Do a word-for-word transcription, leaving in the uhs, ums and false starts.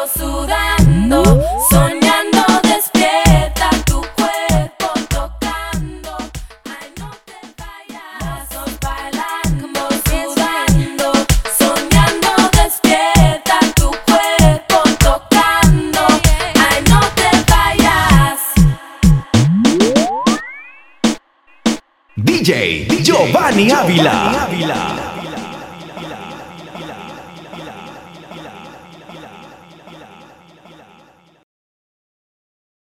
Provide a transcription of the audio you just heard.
sudando, soñando despierta, tu cuerpo tocando. Ay, no te vayas, vamos bailando, sudando, soñando despierta, tu cuerpo tocando. Ay, no te vayas. D J Giovanni Ávila.